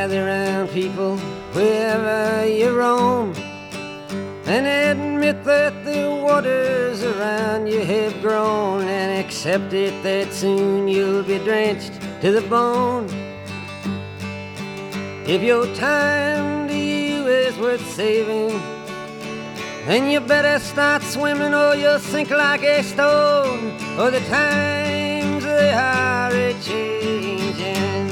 gather round people wherever you roam, and admit that the waters around you have grown, and accept it that soon you'll be drenched to the bone. If your time to you is worth saving, then you better start swimming or you'll sink like a stone, or the times they are a-changing.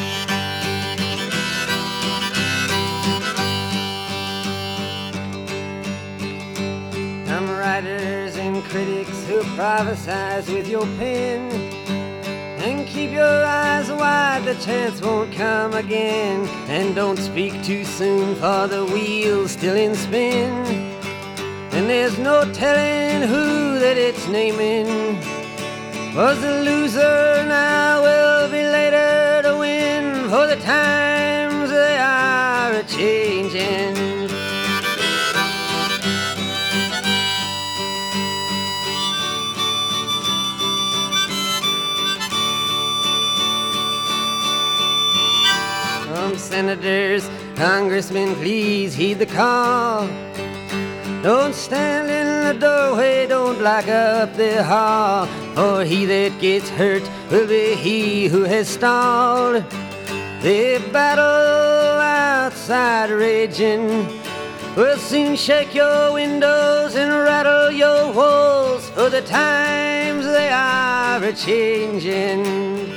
Some writers and critics who prophesize with your pen, and keep your eyes wide, the chance won't come again. And don't speak too soon, for the wheel's still in spin, and there's no telling who that it's naming. Was the loser now will be later to win, for the times they are a-changing. Senators, congressmen, please heed the call. Don't stand in the doorway, don't block up the hall, for he that gets hurt will be he who has stalled. The battle outside raging will soon shake your windows and rattle your walls, for the times they are a-changing.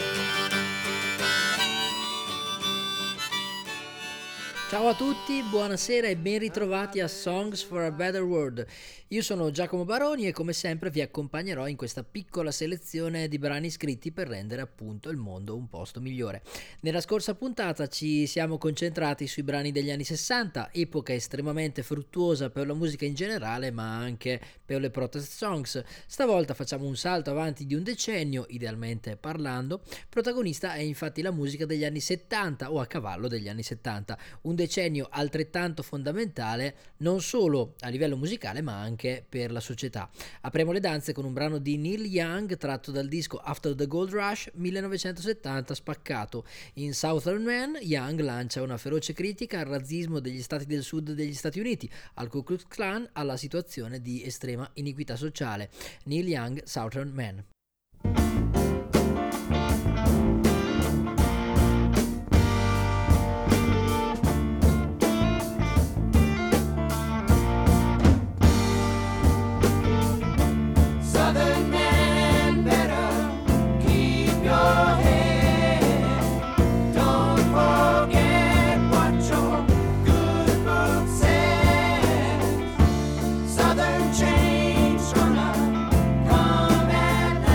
Ciao a tutti, buonasera e ben ritrovati a Songs for a Better World. Io sono Giacomo Baroni e come sempre vi accompagnerò in questa piccola selezione di brani scritti per rendere appunto il mondo un posto migliore. Nella scorsa puntata ci siamo concentrati sui brani degli anni 60, epoca estremamente fruttuosa per la musica in generale ma anche per le protest songs. Stavolta facciamo un salto avanti di un decennio, idealmente parlando. Protagonista è infatti la musica degli anni 70 o a cavallo degli anni 70, un decennio altrettanto fondamentale non solo a livello musicale ma anche per la società. Apriamo le danze con un brano di Neil Young tratto dal disco After the Gold Rush 1970 spaccato. In Southern Man Young lancia una feroce critica al razzismo degli stati del sud degli Stati Uniti, al Ku Klux Klan, alla situazione di estrema iniquità sociale. Neil Young, Southern Man. Southern change gonna come at night.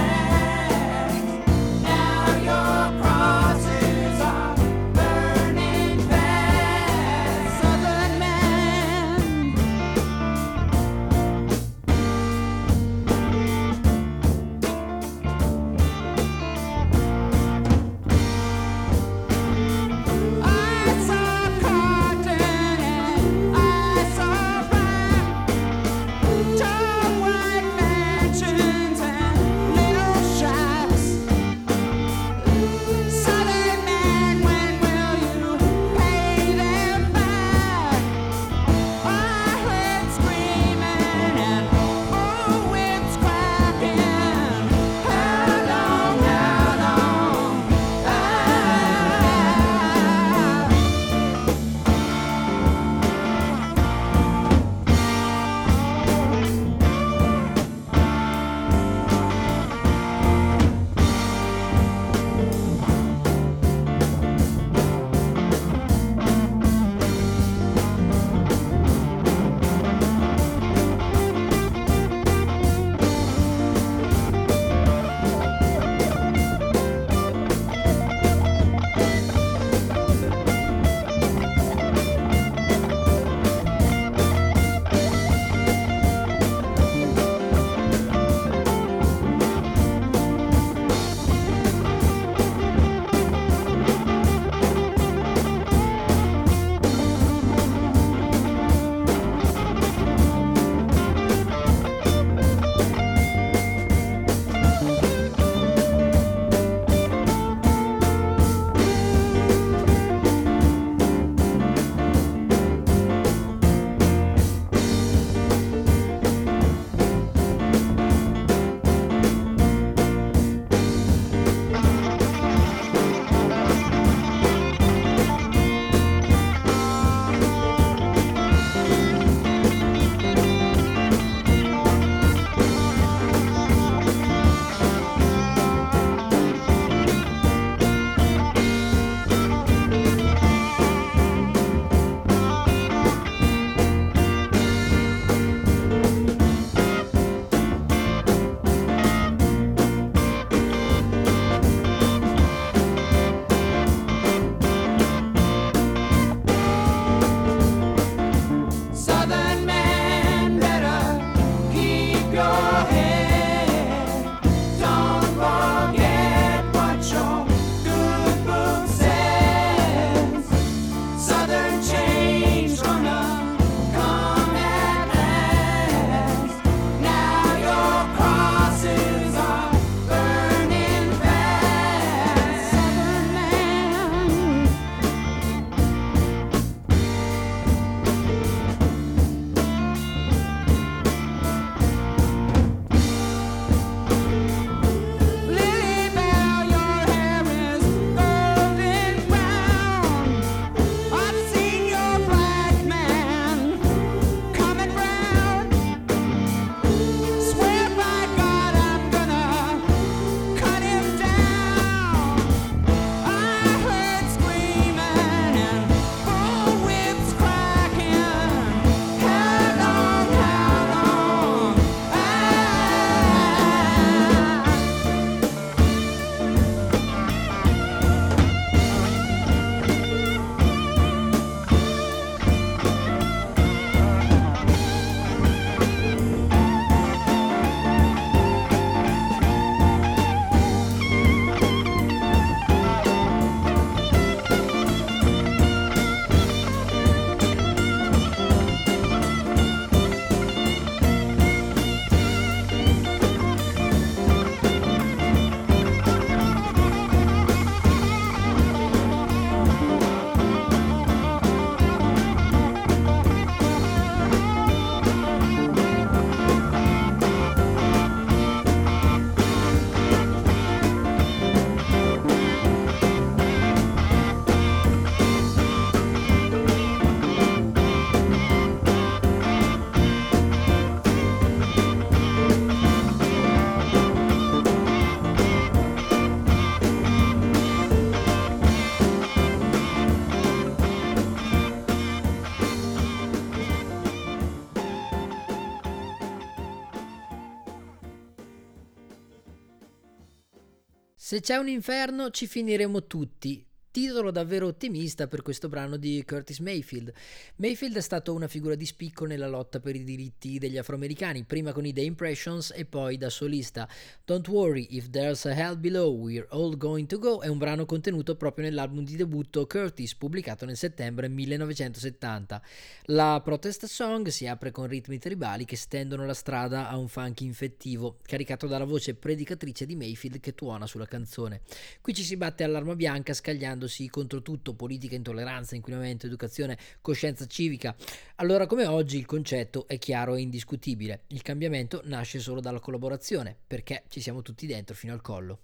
Se c'è un inferno ci finiremo tutti. Titolo davvero ottimista per questo brano di Curtis Mayfield. Mayfield è stato una figura di spicco nella lotta per i diritti degli afroamericani, prima con i The Impressions e poi da solista. Don't Worry If There's a Hell Below, We're All Going to Go è un brano contenuto proprio nell'album di debutto Curtis, pubblicato nel settembre 1970. La protest song si apre con ritmi tribali che stendono la strada a un funk infettivo, caricato dalla voce predicatrice di Mayfield che tuona sulla canzone. Qui ci si batte all'arma bianca scagliandosi contro tutto: politica, intolleranza, inquinamento, educazione, coscienza civica. Allora come oggi il concetto è chiaro e indiscutibile: il cambiamento nasce solo dalla collaborazione, perché ci siamo tutti dentro fino al collo.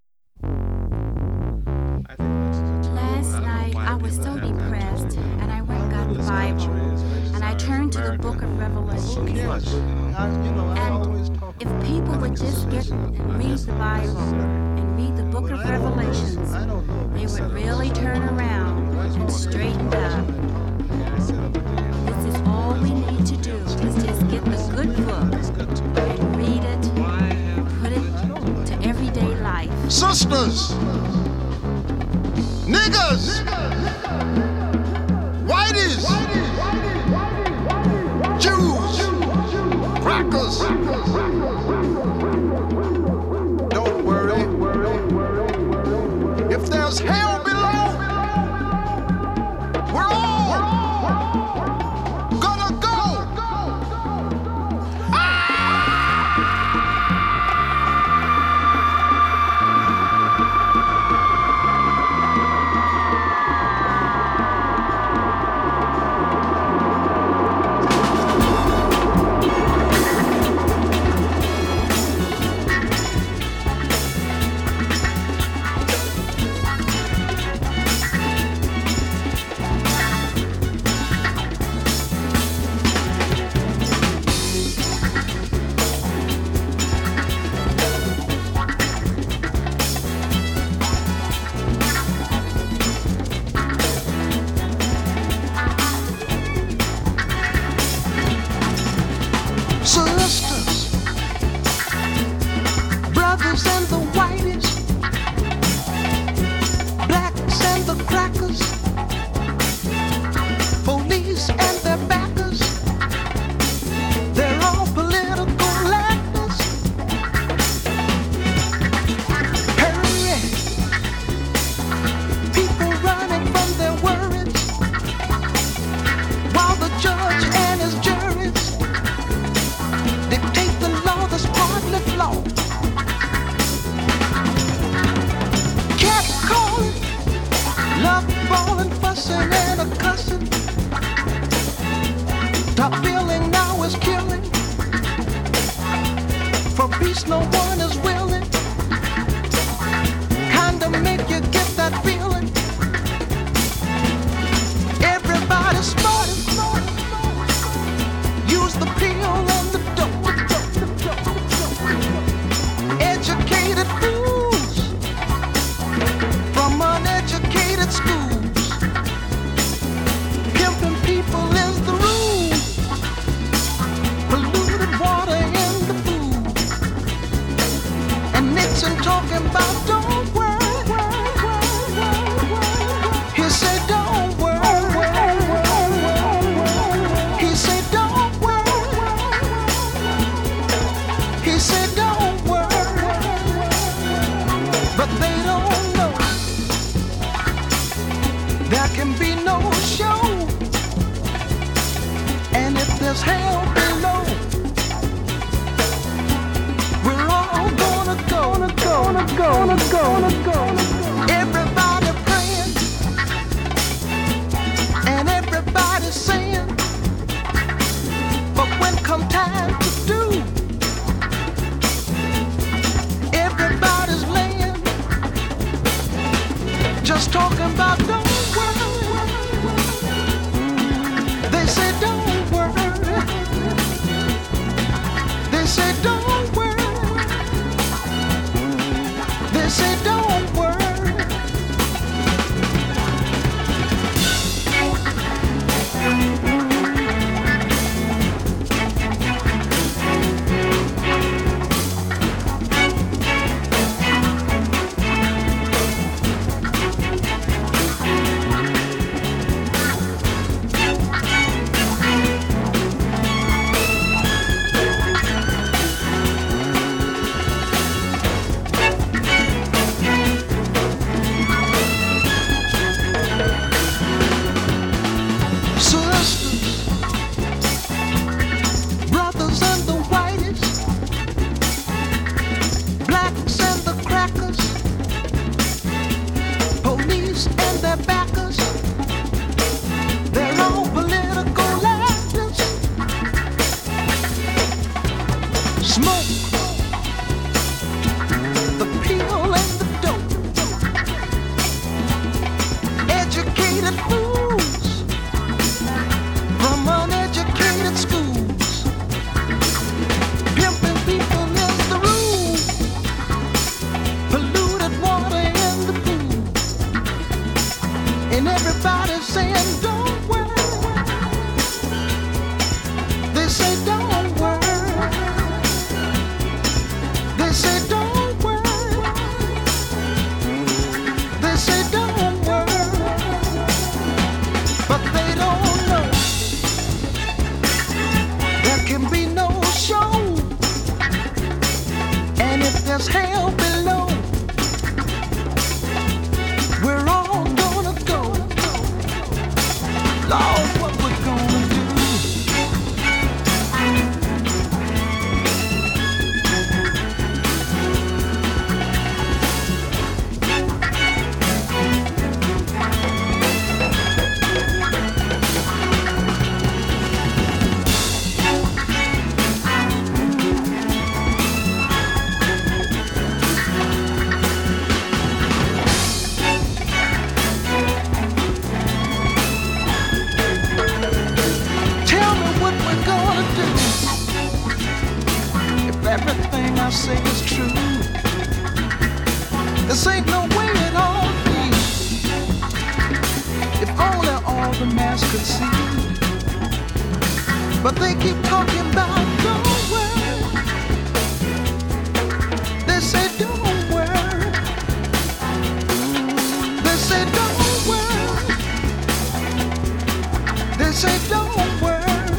Last night I was so depressed and I went and got the Bible and I turned to the book of Revelation. And if people would just get and read the Bible and read the book of Revelations, they would really turn around and straighten up. This is all we need to do, is just get the good book and read it, put it to everyday life. Sisters, niggas, whiteys, Jews, crackers. Don't worry. If there's hell below, we're all gonna go. Sisters, brothers and the whiteys, blacks and the crackers, police and their backers, they're all political actors. Hurry, people running from their worries, while the judge and his juries dictate the law that's partly flawed. Cat calling, love falling, fussing and a cussing. Top billing now is killing. For peace no one is willing. Kinda make you get that feeling. Everybody's smart. Use the pill and the dope. Educated fools from uneducated schools. Pimping people is the rule. Polluted water in the food. And Nixon talking about don't worry. He said don't worry. He said don't worry. He said don't worry. But they don't know there can be no show. And if there's hell below, we're all gonna go. Everybody praying and everybody saying, but when come time to do, everybody's laying, just talking about don't worry. They say don't worry. They say don't worry. They say don't worry. saying don't worry. They say don't worry. They say don't worry. They say don't worry. But they don't know there can be no show. And if there's hell below, we're all gonna go. Lord, what we're gonna do? Everything I say is true. This ain't no way it ought to be. If only all the mass could see. But they keep talking about don't worry. They say don't worry. They say don't worry. They say don't worry.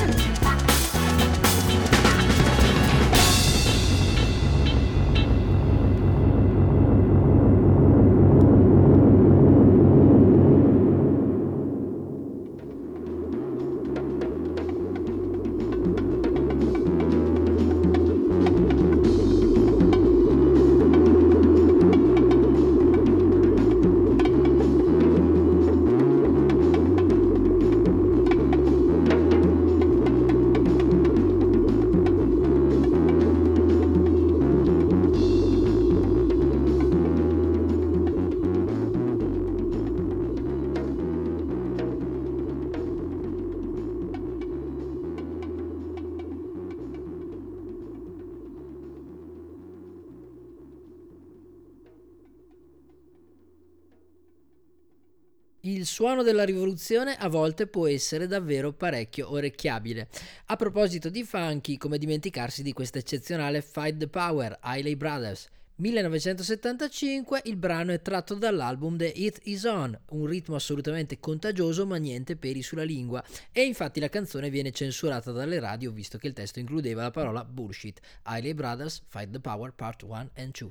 Il suono della rivoluzione a volte può essere davvero parecchio orecchiabile. A proposito di funky, come dimenticarsi di questa eccezionale Fight the Power, Isley Brothers. 1975, il brano è tratto dall'album The It Is On, un ritmo assolutamente contagioso ma niente peli sulla lingua, e infatti la canzone viene censurata dalle radio visto che il testo includeva la parola bullshit. Isley Brothers, Fight the Power Part 1 and 2.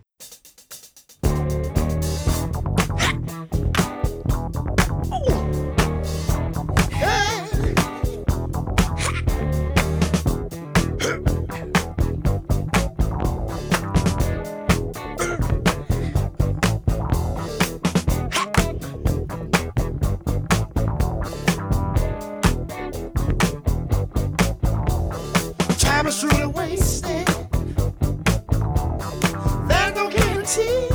Time is truly wasted. There's no guarantee.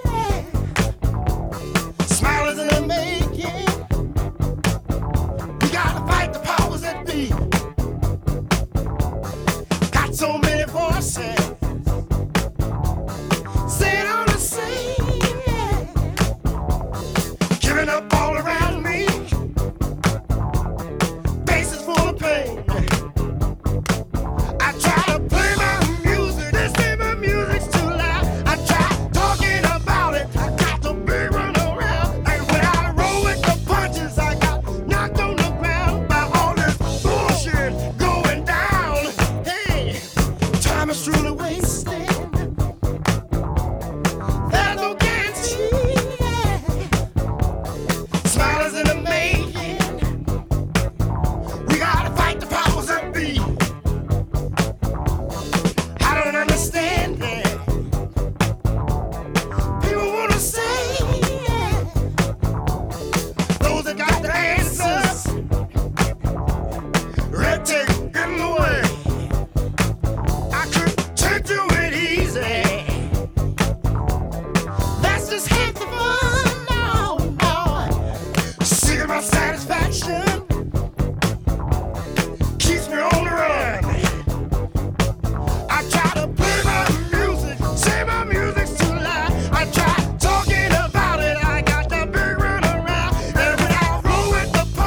Smile is in the making. We gotta fight the powers that be. Got so many voices saying all the same. Giving up all around me. Faces full of pain. I try to play my music, they say my music's too loud. I try talking about it, I got the big run around. And when I roll with the punches, I got knocked on the ground by all this bullshit going down. Hey, time is truly wasted. There's no guarantee. Smile is in the making. We gotta fight the powers that be. I don't understand it. People wanna say those that got the answers. Red tape in the way. I couldn't take to it easy. That's just half the fun. No, no. Seeking my satisfaction keeps me on the run. I try to play my music, say my music's too loud. I try talking about it, I got the big run around. And when I roll with the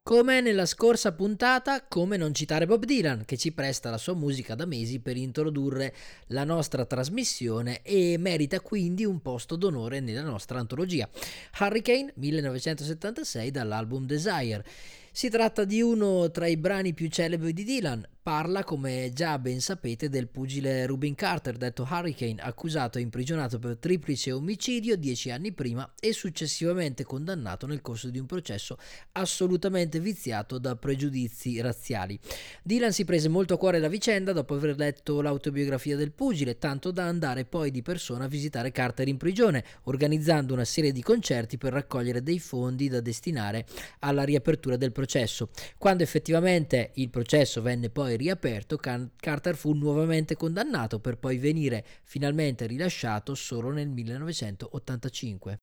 Come nella scorsa puntata, come non citare Bob Dylan, che ci presta la sua musica da mesi per introdurre la nostra trasmissione e merita quindi un posto d'onore nella nostra antologia. Hurricane 1976 dall'album Desire. Si tratta di uno tra i brani più celebri di Dylan. Parla, come già ben sapete, del pugile Rubin Carter, detto Hurricane, accusato e imprigionato per triplice omicidio 10 anni prima e successivamente condannato nel corso di un processo assolutamente viziato da pregiudizi razziali. Dylan si prese molto a cuore la vicenda dopo aver letto l'autobiografia del pugile, tanto da andare poi di persona a visitare Carter in prigione, organizzando una serie di concerti per raccogliere dei fondi da destinare alla riapertura del processo. Quando effettivamente il processo venne poi riaperto, Carter fu nuovamente condannato per poi venire finalmente rilasciato solo nel 1985.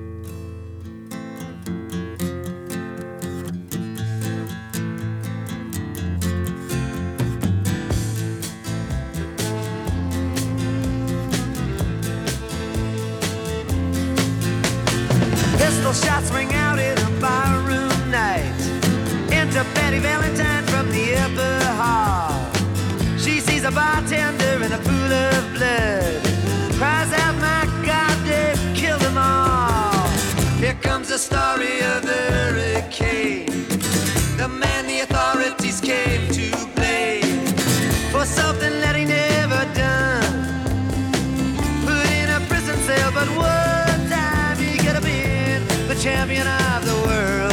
Pistol shots ring out in a barroom night. Enter Betty Valentine from the upper hall. She sees a bartender in a pool of blood. Cries out, my God, they've killed them all. Here comes the story of the hurricane. The man the authorities came to blame for something that he never done. Put in a prison cell, but one time he could have been the champion of the world.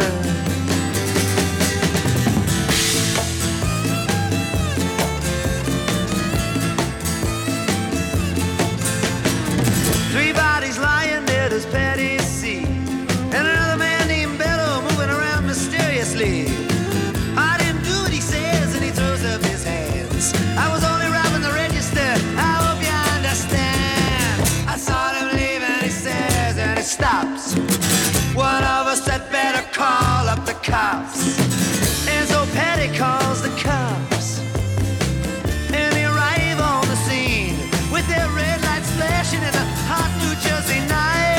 Three bodies lying there, does Patty see? And another man named Bello moving around mysteriously. I didn't do what he says, and he throws up his hands. I was only robbing the register, I hope you understand. I saw him leave and he says, and he stops. One of us had better call up the cops. And so Patty calls the cops. And they arrive on the scene with their red lights flashing in a hot New Jersey night.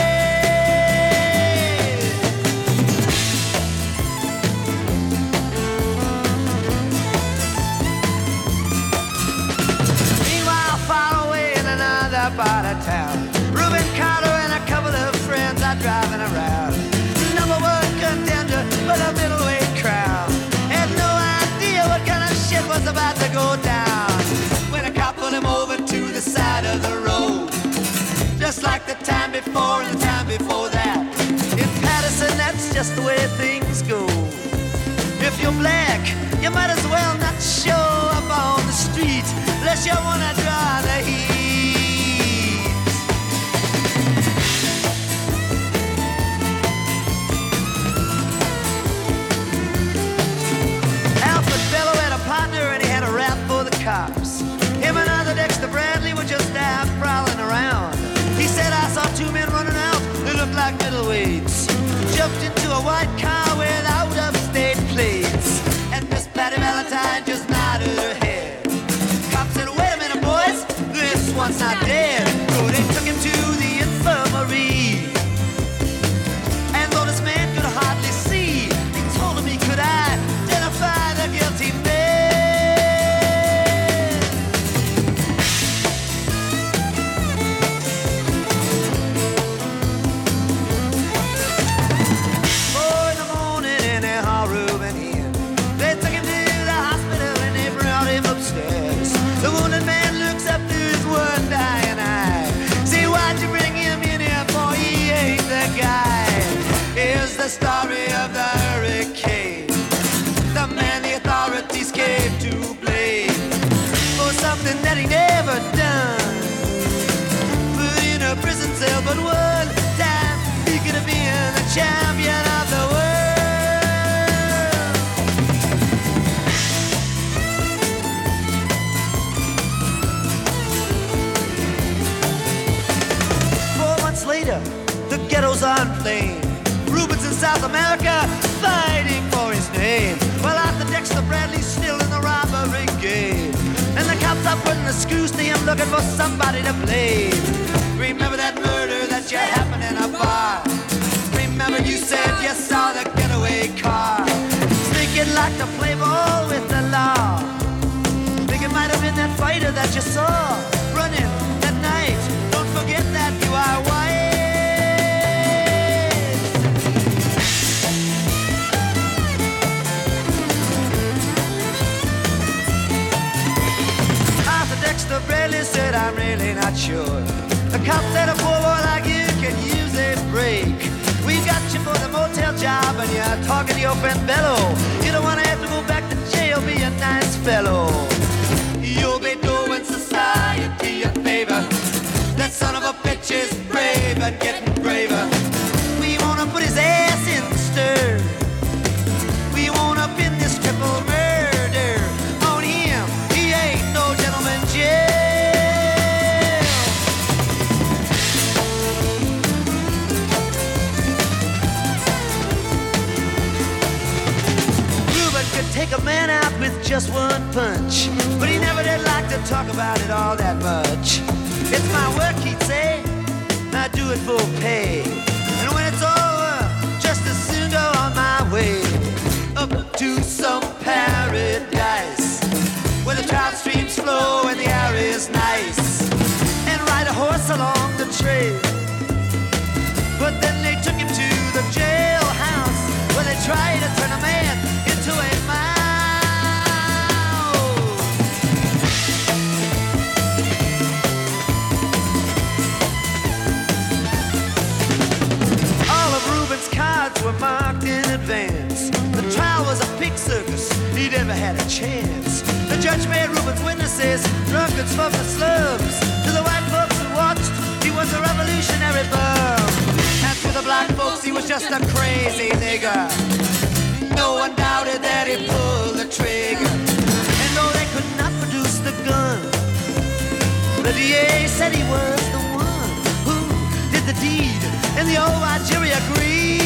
Meanwhile, far away in another part of town, Reuben Carter and a couple of friends are driving around. Number one contender for the middleweight crown. Had no idea what kind of shit was about to go down when a cop pulled him over to the side of the road. Just like the time before and the time before that. In Patterson, that's just the way things go. If you're black, you might as well not show up on the street unless you wanna draw the heat. Alfred Bello had a partner and he had a rap for the cops. Him and other Dexter Bradley were just out prowling around. He said, I saw two men running out who looked like middleweights. Jumped into a white car with out-of-state plates. And Miss Patty Valentine just nodded her head. Cop said, wait a minute, boys, this one's not dead. So they took him to the infirmary. And though this man could hardly see, he told him he could identify the guilty man. The wounded man looks up to his one dying eye. See, why'd you bring him in here, boy? He ain't the guy. Here's the story of the hurricane. The man the authorities came to blame for something that he never done. Put in a prison cell, but one time he could have been the champion of the world. Later, the ghettos are inflamed. Rubens in South America fighting for his name. Well, Arthur Dexter Bradley's still in the robbery game. And the cops are putting the screws to him, looking for somebody to blame. Remember that murder that you happened in a bar? Remember you said you saw the getaway car? like to play ball with the law. Think it might have been that fighter that you saw running that night. Don't forget that you are white. Arthur Dexter Bradley said, I'm really not sure. The cop said a poor boy like you can use a break. We got you for the motel job and you're talking to your friend Bello. You don't want to have to go back to jail, be a nice fellow. You'll be doing society a favor. That son of a bitch is brave and getting braver. We wanna put his ass in the stir. We wanna pin this triple murder on him. He ain't no gentleman jail. Reuben could take a man out with just one punch, but he never did like to talk about it all that much. It's my work, he'd say, I do it for pay. And when it's over, just as soon go on my way up to some paradise where the trout streams flow and the air is nice, and ride a horse along the trail. But then they took him to the jailhouse where they tried to turn a man into a mouse. Cards were marked in advance. The trial was a pig circus, he never had a chance. The judge made Reuben's witnesses drunkards from the slums. To the white folks who watched, he was a revolutionary bum. And to the black folks, he was just a crazy nigger. No one doubted that he pulled the trigger. And though they could not produce the gun, the DA said he was the one who did the deed. And the old white jury agreed.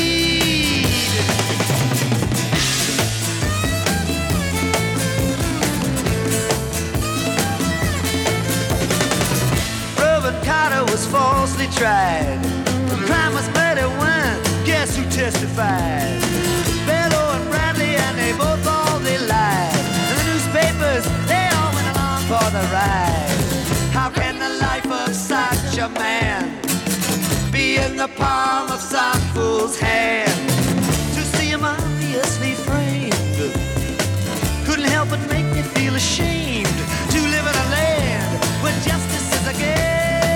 Reuben Carter was falsely tried. The crime was murder one. Guess who testified? Bello and Bradley, and they both all they lied. And the newspapers, they all went along for the ride. How can the life of such a man be in the palm of some fool's hand? To see him obviously framed couldn't help but make me feel ashamed to live in a land where justice is a game.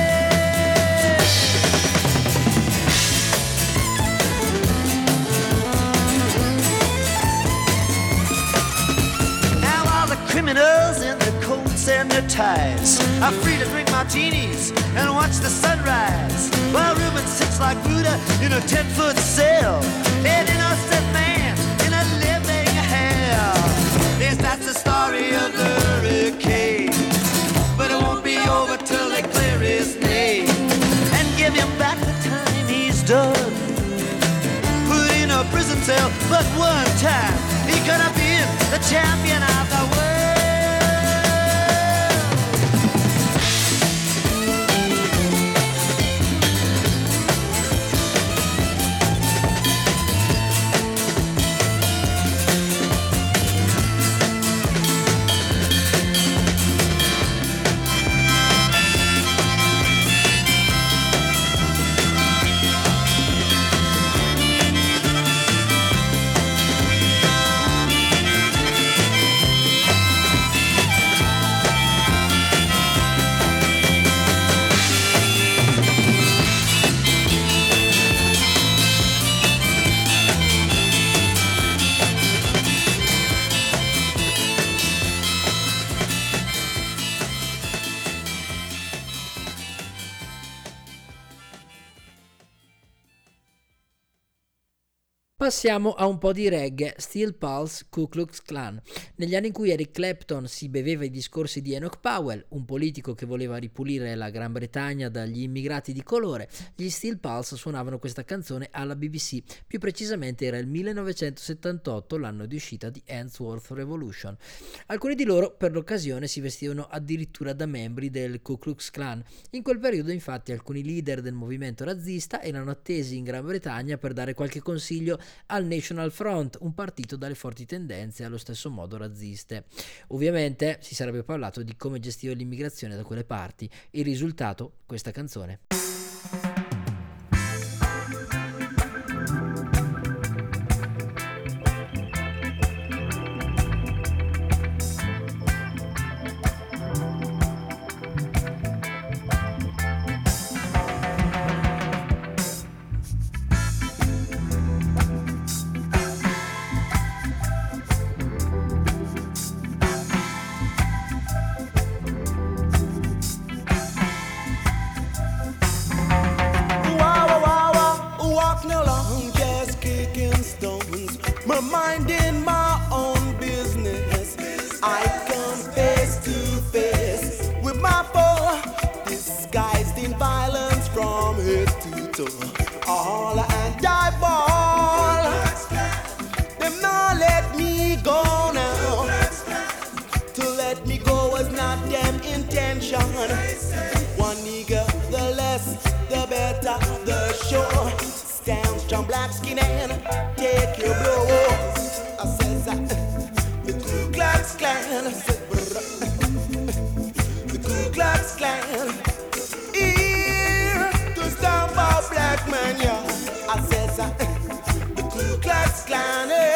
Now all the criminals in their coats and their ties are free to drink martinis and watch the sunrise, while Reuben sits like Buddha in a 10-foot cell, an innocent man in a living hell. Yes, that's the story of the hurricane, but it won't be over till they clear his name and give him back the time he's done. Put in a prison cell, but one time he could have been the champion of the world. Passiamo a un po' di reggae, Steel Pulse, Ku Klux Klan. Negli anni in cui Eric Clapton si beveva i discorsi di Enoch Powell, un politico che voleva ripulire la Gran Bretagna dagli immigrati di colore, gli Steel Pulse suonavano questa canzone alla BBC. Più precisamente era il 1978, l'anno di uscita di Handsworth Revolution. Alcuni di loro per l'occasione si vestivano addirittura da membri del Ku Klux Klan. In quel periodo infatti alcuni leader del movimento razzista erano attesi in Gran Bretagna per dare qualche consiglio al National Front, un partito dalle forti tendenze allo stesso modo razziste. Ovviamente si sarebbe parlato di come gestiva l'immigrazione da quelle parti. Il risultato, questa canzone. Minding my own business, I come face to face with my foe, disguised in violence from head to toe. All and I ball, them not let me go now. To let me go was not them intention. One nigga, the less, the better, the show. Stand strong, black skin and take your blow. I says the Ku Klux Klan. I said, the Ku Klux Klan. Here to stop our black man, yeah. I says the Ku Klux Klan. Yeah.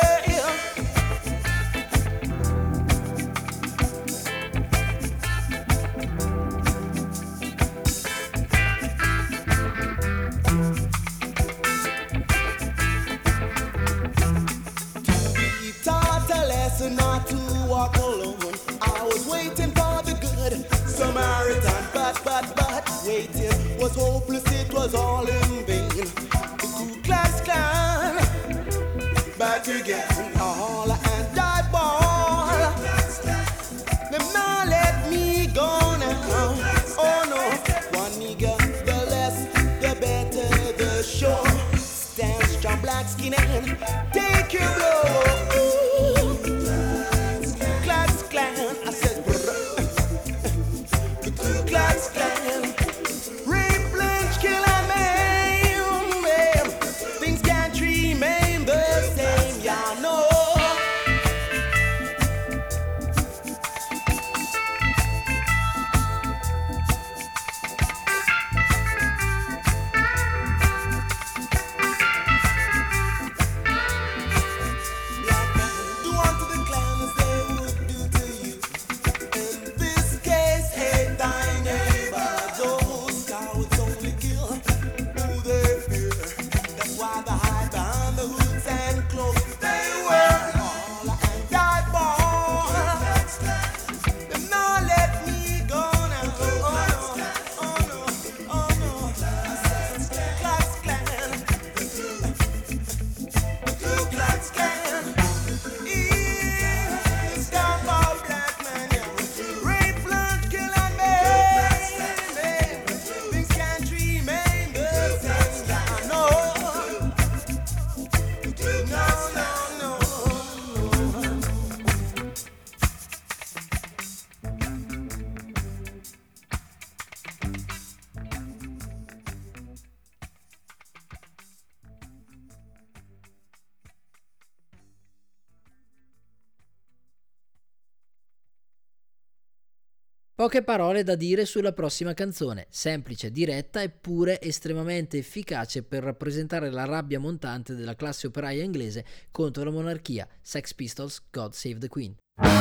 Not to walk alone. I was waiting for the good Samaritan, but waiting was hopeless. It was all in vain. The Ku Klux Klan back again, all and I ball. Them not let me go now. Oh no, one nigga, the less, the better, the show. Stand strong, black skin and take your blow. I said, the Ku Klux Klan, rape, lynch, kill and maim. Things can't remain the same, y'all know. Do unto the Klan as they would do to you. In this case, hate thy neighbor. Those cowards only kill who they fear. That's why they hide behind the hoods and cloaks. They were all and die born. Them not let me go now. Oh no, oh no, oh no. I said, Klux Klan, Ku Klux Klan. Stop all black men, yeah. Rape, blood, kill and maim. Things can't remain the same, yeah, no. No, no, no. Poche parole da dire sulla prossima canzone, semplice, diretta eppure estremamente efficace per rappresentare la rabbia montante della classe operaia inglese contro la monarchia. Sex Pistols, God Save the Queen.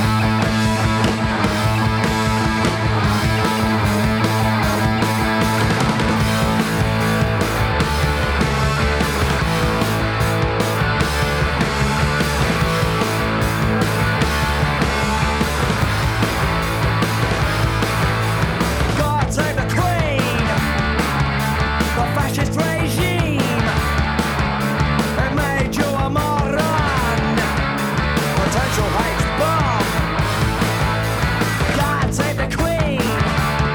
God save the Queen, the fascist regime. It made you a moron, potential hate bomb. God save the Queen.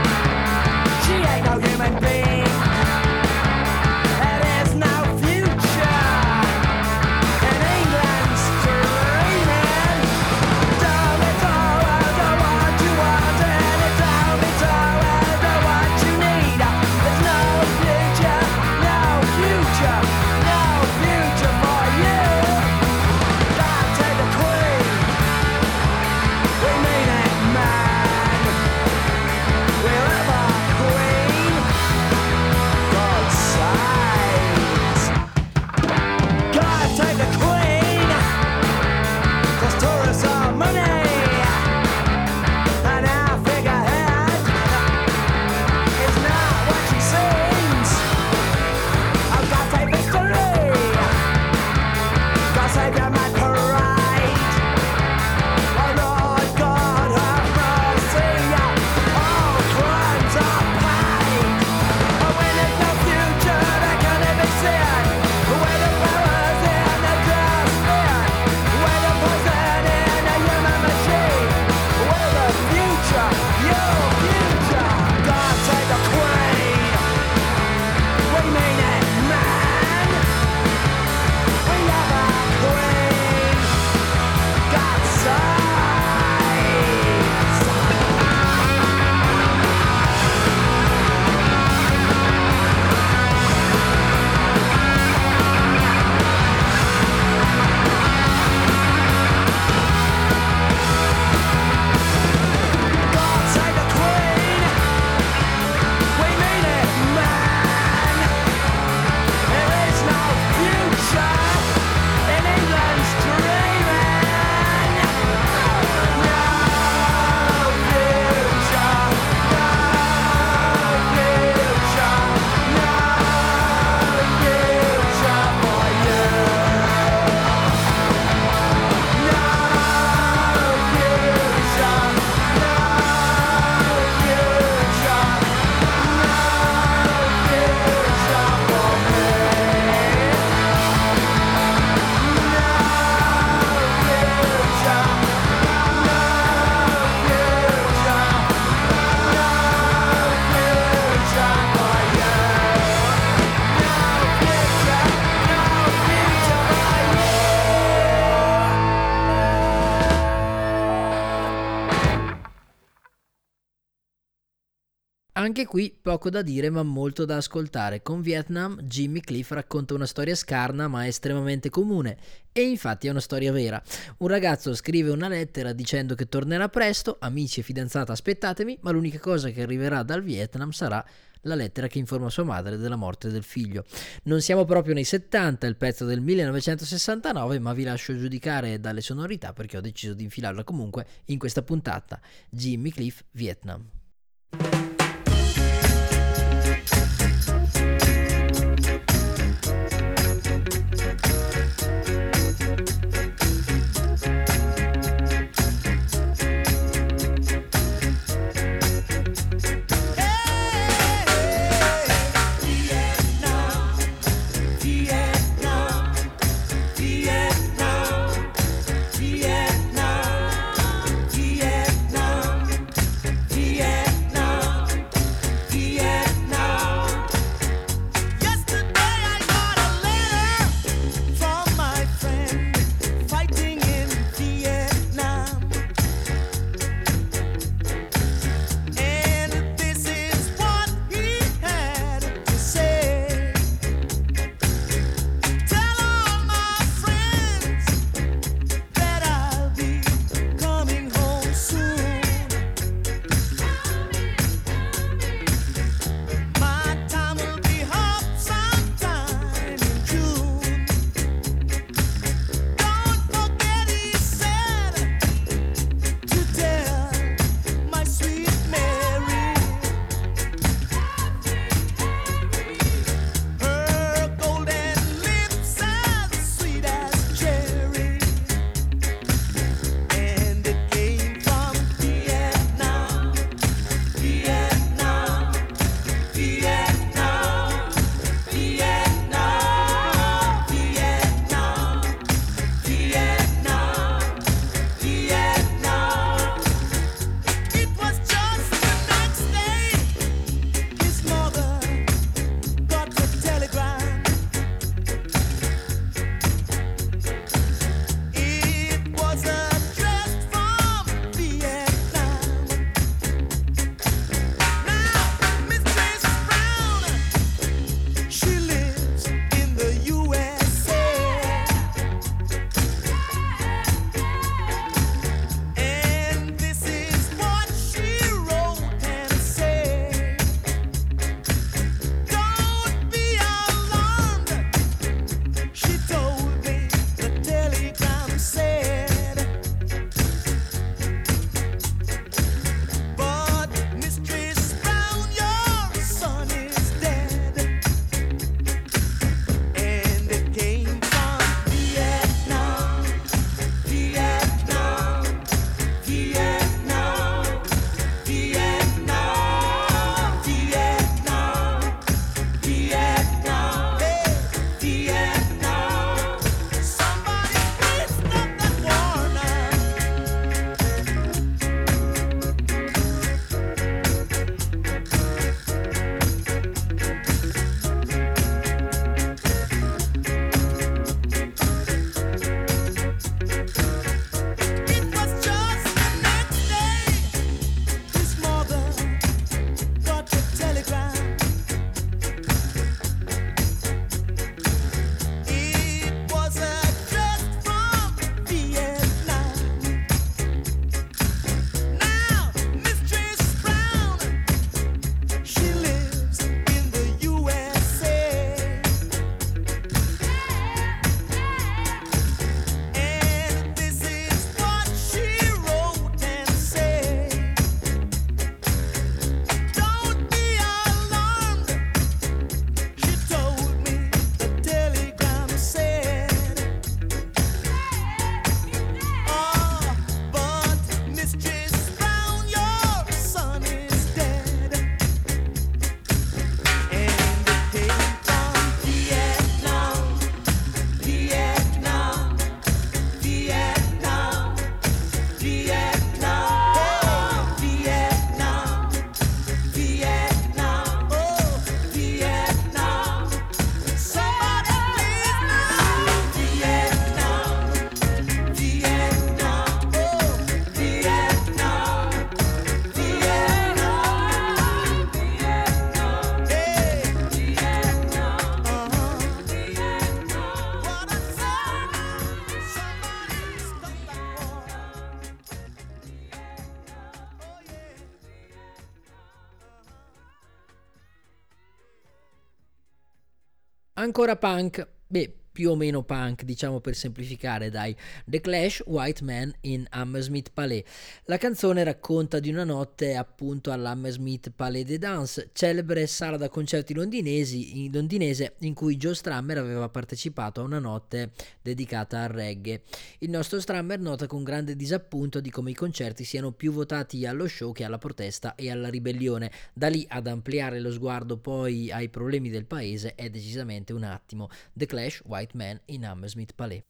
Anche qui poco da dire ma molto da ascoltare. Con Vietnam Jimmy Cliff racconta una storia scarna ma estremamente comune, e infatti è una storia vera. Un ragazzo scrive una lettera dicendo che tornerà presto, amici e fidanzata aspettatemi, ma l'unica cosa che arriverà dal Vietnam sarà la lettera che informa sua madre della morte del figlio. Non siamo proprio nei 70, il pezzo del 1969, ma vi lascio giudicare dalle sonorità perché ho deciso di infilarla comunque in questa puntata. Jimmy Cliff, Vietnam. Vietnam, Ancora punk, beh, più o meno punk, diciamo per semplificare, dai. The Clash, White Man in Hammersmith Palais. La canzone racconta di una notte appunto all'Hammersmith Palais de Danse, celebre sala da concerti londinese in cui Joe Strummer aveva partecipato a una notte dedicata al reggae. Il nostro Strummer nota con grande disappunto di come i concerti siano più votati allo show che alla protesta e alla ribellione. Da lì ad ampliare lo sguardo poi ai problemi del paese è decisamente un attimo. The Clash, White Man in Hammersmith Palais.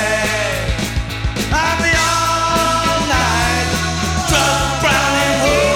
Brown and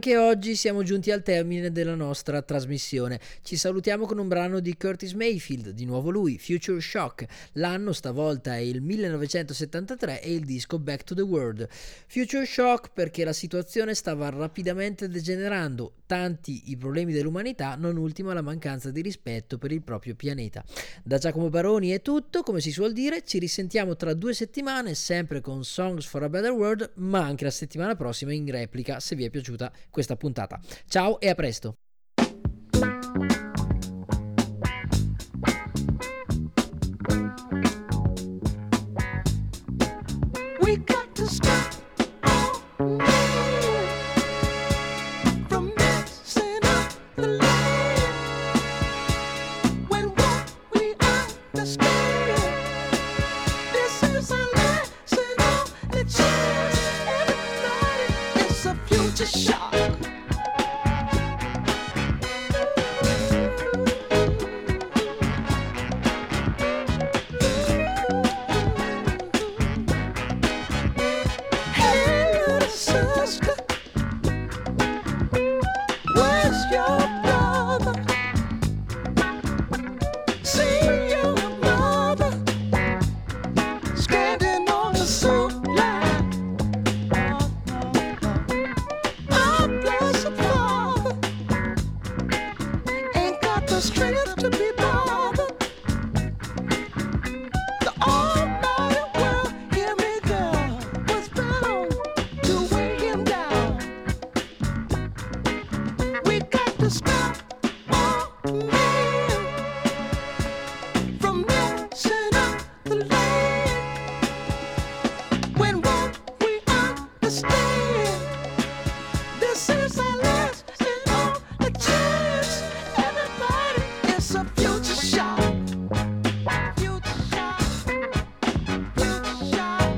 Anche oggi siamo giunti al termine della nostra trasmissione. Ci salutiamo con un brano di Curtis Mayfield, di nuovo lui, Future Shock. L'anno stavolta è il 1973 e il disco Back to the World. Future Shock perché la situazione stava rapidamente degenerando, tanti i problemi dell'umanità, non ultima la mancanza di rispetto per il proprio pianeta. Da Giacomo Baroni è tutto, come si suol dire, ci risentiamo tra 2 settimane, sempre con Songs for a Better World, ma anche la settimana prossima in replica, se vi è piaciuta questa puntata. Ciao e a presto! We got to stop from messing up the land when what we understand. This is a lesson on the chance. Everybody, it's a future shock. Strength to be bothered. The almighty world, hear me, girl, was bound to weigh him down. We got to stop all men from messing up the land when what we understand. This is our last and only chance. Everybody, it's a future shock. Future shock. Future shock.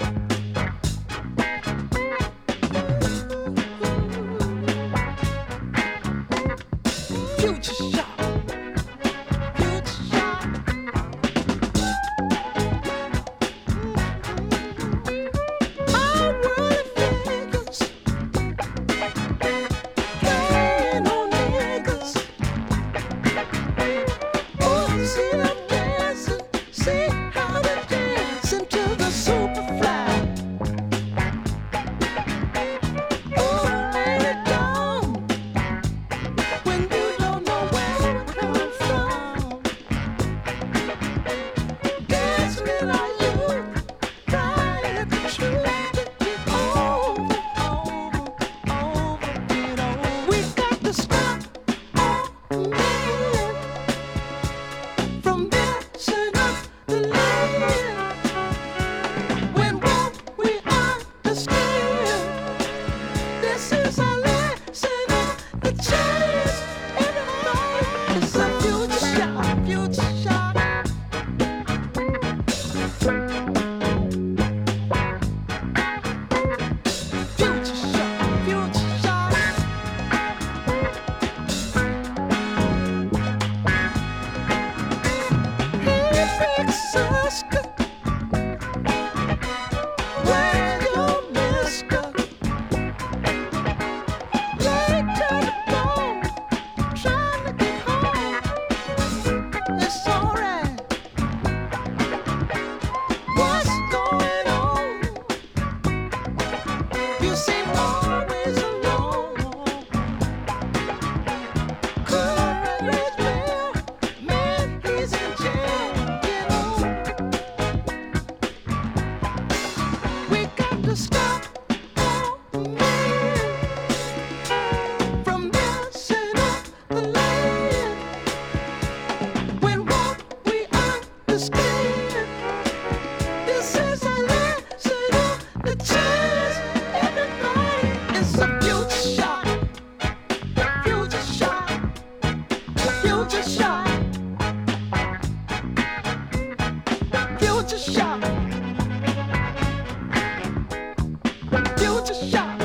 Future shock. Future shock. Our world figures playing on niggas. Oh, see them dancing, see how they dance into the superfly. Oh, ain't it dumb when you don't know where it comes from? Dancing in our youth, trying the truth to get over, get over. We got to stop all men from messing up the land when what we understand. This is our lesson on the chance. Everybody, it's a future shock, future shock. Future shock, future shock. Hey, big sister, where's your mister? Late to the bone, trying to get home. It's alright. What's going on? You seem always alone. Courage, well, man, he's in jail. Get on. We got to stop all men from messing up the land when what we understand. This is a lesson on the chance. Everybody, it's a future shock. Future shock. Future shock. Future shock. Future shock.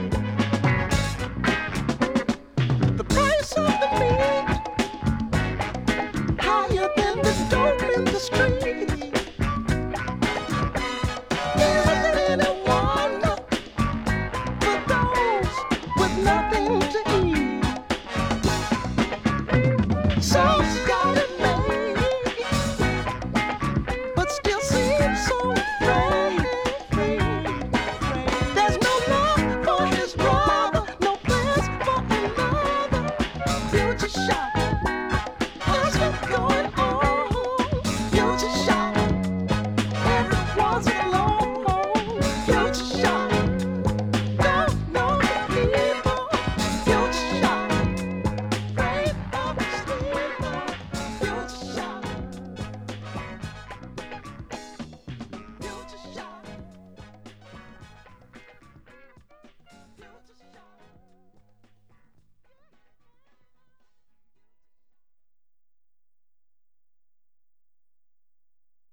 The price of the meat higher than the dope in the street. Is it any wonder for those with nothing future shock.